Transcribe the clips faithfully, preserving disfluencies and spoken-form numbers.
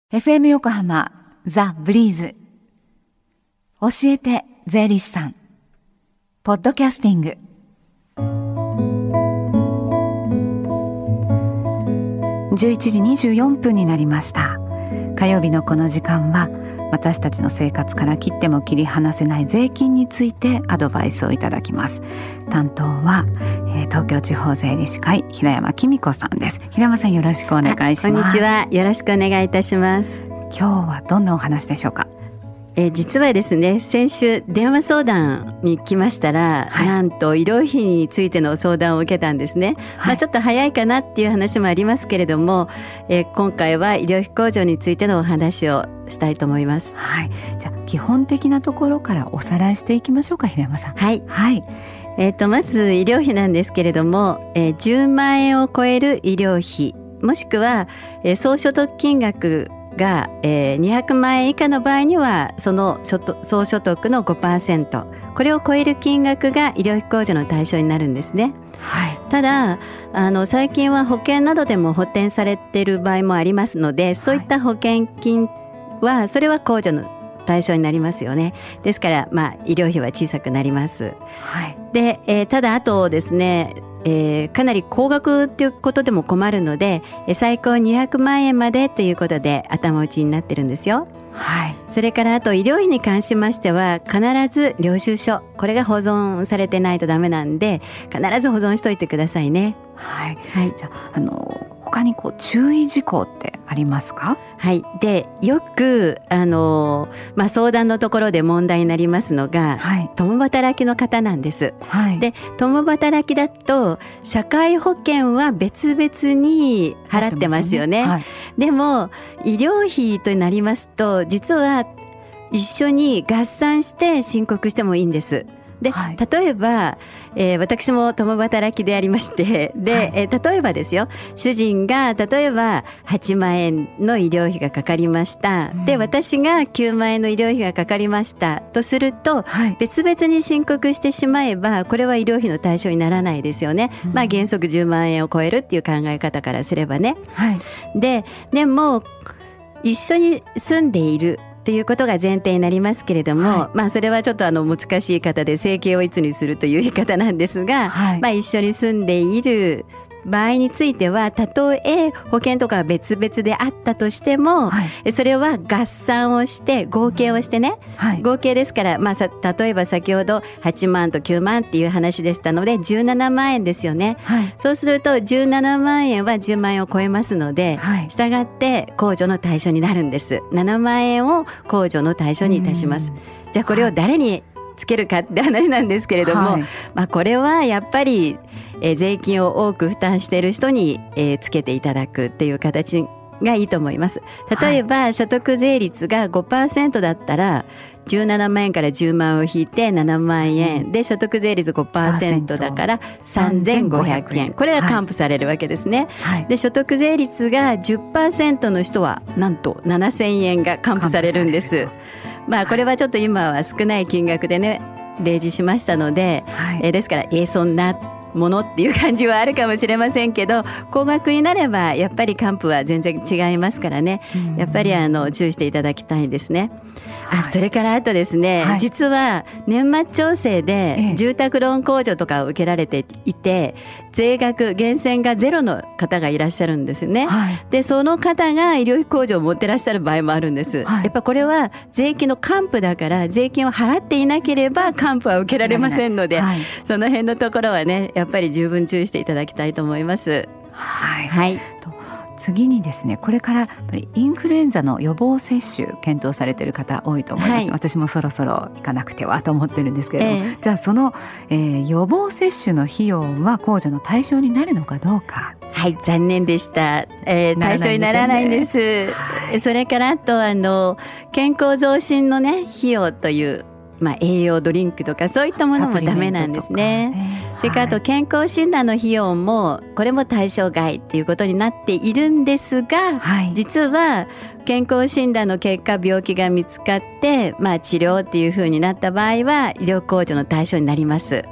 エフエム 横浜ザ・ブリーズ教えて税理士さんポッドキャスティングじゅういちじにじゅうよんぷんになりました。火曜日のこの時間は私たちの生活から切っても切り離せない税金についてアドバイスをいただきます。担当は、えー、東京地方税理士会平山紀美子さんです。平山さん、よろしくお願いします。 こんにちは、よろしくお願いいたします。 今日はどんなお話でしょうか。 えー、実はですね、先週電話相談に来ましたら、はい、なんと医療費についての相談を受けたんですね、はい。まあ、ちょっと早いかなっていう話もありますけれども、えー、今回は医療費控除についてのお話をしたいと思います。 はい、じゃあ基本的なところからおさらいしていきましょうか、平山さん。 はい、 はい。 えー、とまず医療費なんですけれども、えー、じゅうまんえんを超える医療費もしくは、えー、総所得金額が、えー、にひゃくまんえん以下の場合にはその所得総所得の ごパーセント、 これを超える金額が医療費控除の対象になるんですね。 はい、 ただあの最近は保険などでも補填されている場合もありますので、そういった保険金はそれは控除の対象になりますよね。ですから、まあ、医療費は小さくなります。 はい。 で、えー、ただあとですね、えー、かなり高額ということでも困るので、えー、最高にひゃくまんえんまでということで頭打ちになってるんですよ。 はい。 それからあと医療費に関しましては必ず領収書、これが保存されてないとダメなんで必ず保存しといてくださいね。 はい、はい。じゃあ、あの他にこう注意事項ってありますか。 はい。でよくあの、まあ、相談のところで問題になりますのが、はい、共働きの方なんです。はい、で共働きだと社会保険は別々に払ってますよね。はい、でも医療費となりますと実は一緒に合算して申告してもいいんです。で、はい、例えば、えー、私も共働きでありましてで、はい、えー、例えばですよ、主人が例えばはちまんえんの医療費がかかりました、うん、で私がきゅうまんえんの医療費がかかりましたとすると、はい、別々に申告してしまえばこれは医療費の対象にならないですよね。うん、まあ、原則じゅうまんえんを超えるっていう考え方からすればね。はい、で、でも一緒に住んでいるということが前提になりますけれども、はい、まあ、それはちょっとあの難しい方で生計をいつにするという言い方なんですが、はい、まあ、一緒に住んでいる場合についてはたとえ保険とか別々であったとしても、はい、それは合算をして合計をしてね、はい、合計ですから、まあ、さ例えば先ほどはちまんときゅうまんっていう話でしたのでじゅうななまんえんですよね。はい、そうするとじゅうななまんえんはじゅうまんえんを超えますので、はい、したがって控除の対象になるんです。ななまんえんを控除の対象にいたします。じゃあこれを誰につけるかって話なんですけれども、はい、まあ、これはやっぱり、えー、税金を多く負担している人に、えー、つけていただくっていう形がいいと思います。例えば、はい、所得税率が ごパーセント だったらじゅうななまんえんからじゅうまんを引いてななまんえん、うん、で所得税率 ごパーセント だからさんぜんごひゃくえん、これが還付されるわけですね。はい、で所得税率が じゅっパーセント の人はなんとななせんえんが還付されるんです。まあ、これはちょっと今は少ない金額でね例示しましたので、はい、えー、ですからえー、そんなものっていう感じはあるかもしれませんけど、高額になればやっぱり還付は全然違いますからね、やっぱりあの注意していただきたいんですね。はい、あそれからあとですね、はい、実は年末調整で住宅ローン控除とかを受けられていて、税額源泉がゼロの方がいらっしゃるんですね。はい、でその方が医療費控除を持ってらっしゃる場合もあるんです。はい、やっぱこれは税金の還付だから税金を払っていなければ還付は受けられませんので、はい、その辺のところはねやっぱり十分注意していただきたいと思います。 はい、はい、と次にですね、これからやっぱりインフルエンザの予防接種検討されている方多いと思います。はい、私もそろそろ行かなくてはと思ってるんですけれども、えー、じゃあその、えー、予防接種の費用は控除の対象になるのかどうか。 はい、残念でした、えー、対象にならないんです。はい、それからあとあの健康増進のね費用というまあ、栄養ドリンクとかそういったものもダメなんですね。ね、それからあと健康診断の費用もこれも対象外ということになっているんですが、はい、実は健康診断の結果病気が見つかって、まあ、治療っていう風になった場合は医療控除の対象になります。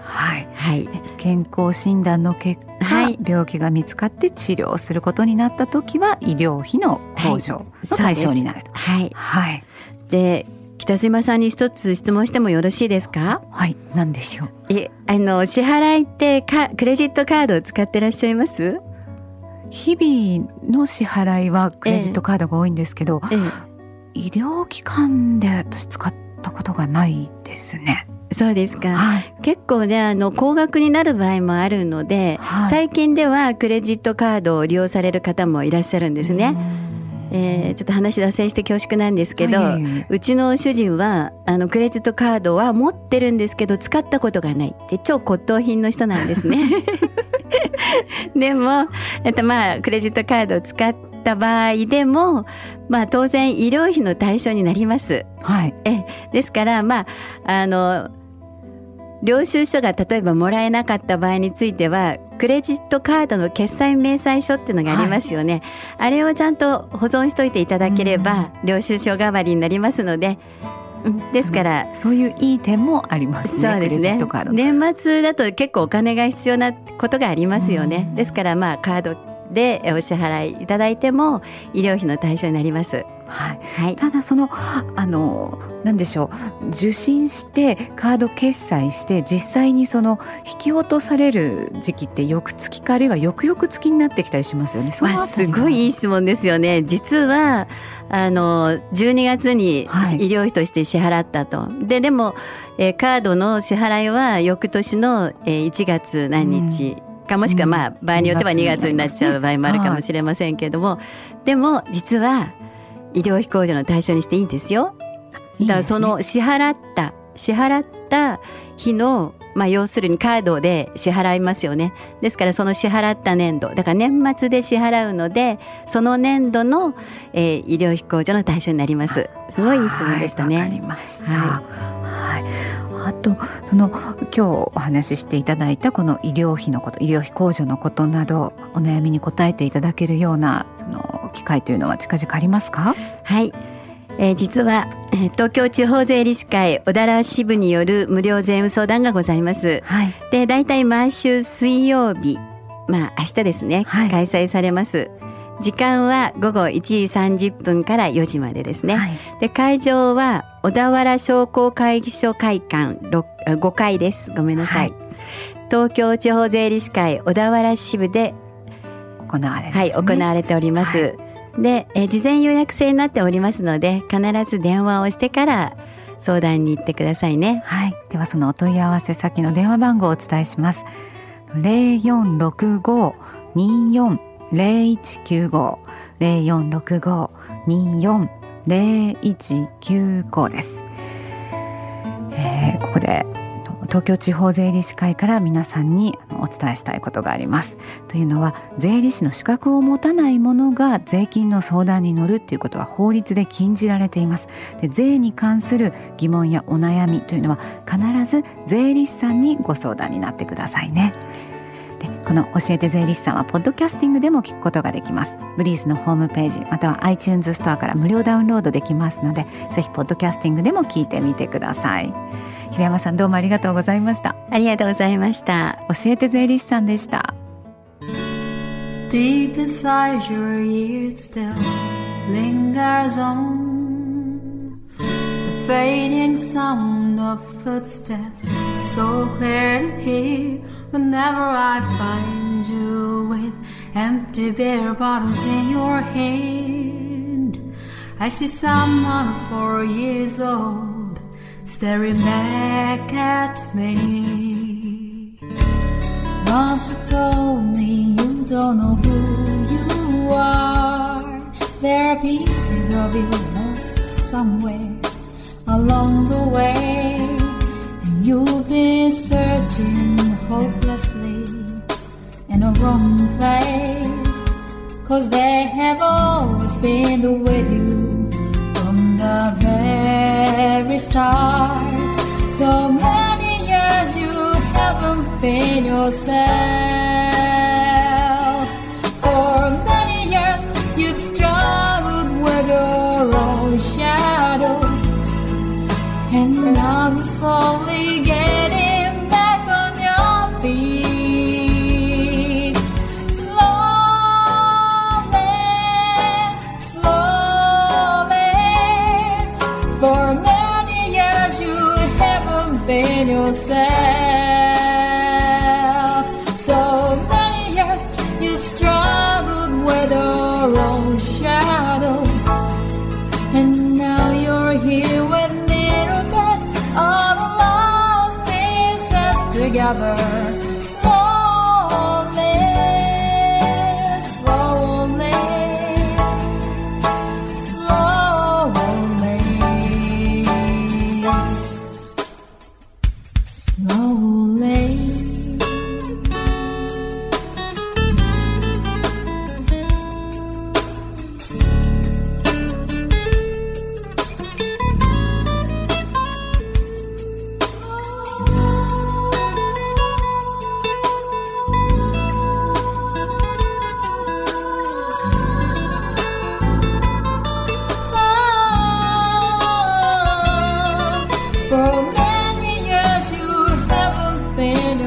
はい、はい、健康診断の結果、はい、病気が見つかって治療することになった時は医療費の控除の対象になると。 はい、はい、で北島さんに一つ質問してもよろしいですか？ はい、何でしょう。 えあの支払いってかクレジットカードを使ってらっしゃいます？ 日々の支払いはクレジットカードが多いんですけど、ええええ、医療機関で私使ったことがないですね。 そうですか、はい、結構ねあの高額になる場合もあるので、はい、最近ではクレジットカードを利用される方もいらっしゃるんですね。えー、ちょっと話脱線して恐縮なんですけど、はい、うちの主人はあのクレジットカードは持ってるんですけど使ったことがないって超骨董品の人なんですねでも、えっと、まあクレジットカードを使った場合でも、まあ、当然医療費の対象になります、はい、えですから、まあ、あの領収書が例えばもらえなかった場合についてはクレジットカードの決済明細書っていうのがありますよね、はい、あれをちゃんと保存しといていただければ領収書代わりになりますので、うん、ですから、 うん、そういういい点もありますね。 そうですね、 クレジットカード年末だと結構お金が必要なことがありますよね。ですからまあカードでお支払いいただいても医療費の対象になります。 はいはい、ただそのあの何でしょう、受診してカード決済して実際にその引き落とされる時期って翌月かあるいは翌々月になってきたりしますよね。 そのあたりはすごいいい質問ですよね。実はあのじゅうにがつに医療費として支払ったと、はい、ででも、えー、カードの支払いは翌年の、えー、いちがつ何日、うん、かもしくは、まあ、場合によってはにがつになっちゃう場合もあるかもしれませんけども、はい、でも実は医療費控除の対象にしていいんですよ。だからその支払った支払った日の、まあ、要するにカードで支払いますよね。ですからその支払った年度だから年末で支払うのでその年度の、えー、医療費控除の対象になります。すごいいい質問でしたね。 わかりました、はいはい、あとその今日お話ししていただいたこの医療費のこと医療費控除のことなどお悩みに答えていただけるようなその機会というのは近々ありますか？ はい、えー、実は東京地方税理士会小田原支部による無料税務相談がございます、はい、でだいたい毎週水曜日、まあ明日ですね、はい、開催されます。時間は午後いちじさんじゅっぷんからよじまでですね、はい、で会場は小田原商工会議所会館ごかいです。ごめんなさい、はい、東京地方税理士会小田原支部で行われますね、 はい、行われております、はい、でえ事前予約制になっておりますので必ず電話をしてから相談に行ってくださいね。 はい、ではそのお問い合わせ先の電話番号をお伝えします。 ゼロよんろくご にーよん ゼロいちきゅうご ゼロよんろくご にーよん ゼロいちきゅうごです、えー、ここで東京地方税理士会から皆さんにお伝えしたいことがあります。というのは税理士の資格を持たない者が税金の相談に乗るということは法律で禁じられています。で税に関する疑問やお悩みというのは必ず税理士さんにご相談になってくださいね。でこの教えて税理士さんはポッドキャスティングでも聞くことができます。ブリースのホームページまたは iTunes ストアから無料ダウンロードできますのでぜひポッドキャスティングでも聞いてみてください。平山さんどうもありがとうございました。 ありがとうございました。 教えて税理士さんでした。 Deep inside your ear it still lingers on the fading sound of footsteps so clear to hear whenever I find you with empty beer bottles in your hand. I see someone four years old staring back at me. Once you told me you don't know who you are. There are pieces of you lost somewhere along the way, and you've been searching hopelessly in a wrong place, 'cause they have always been with you from the very start. So many years you haven't been yourself. For many years you've struggled with your own shadow, and now you're slowly getting back on yourself. So many years you've struggled with your own shadow, and now you're here with mirror beds, all the lost pieces together. Slowly, slowly, slowly, slowly. For many years you haven't been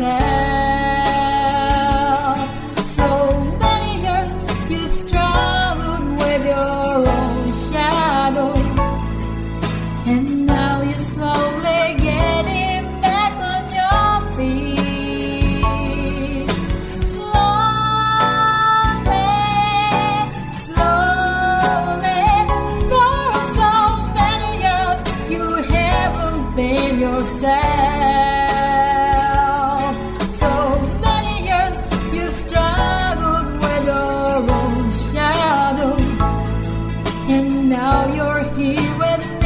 yourself. So many years you've struggled with your own shadow, and now you're slowly getting back on your feet. Slowly, slowly. For so many years you haven't been yourself. So many years you've struggled with your own shadow, and now you're here with me.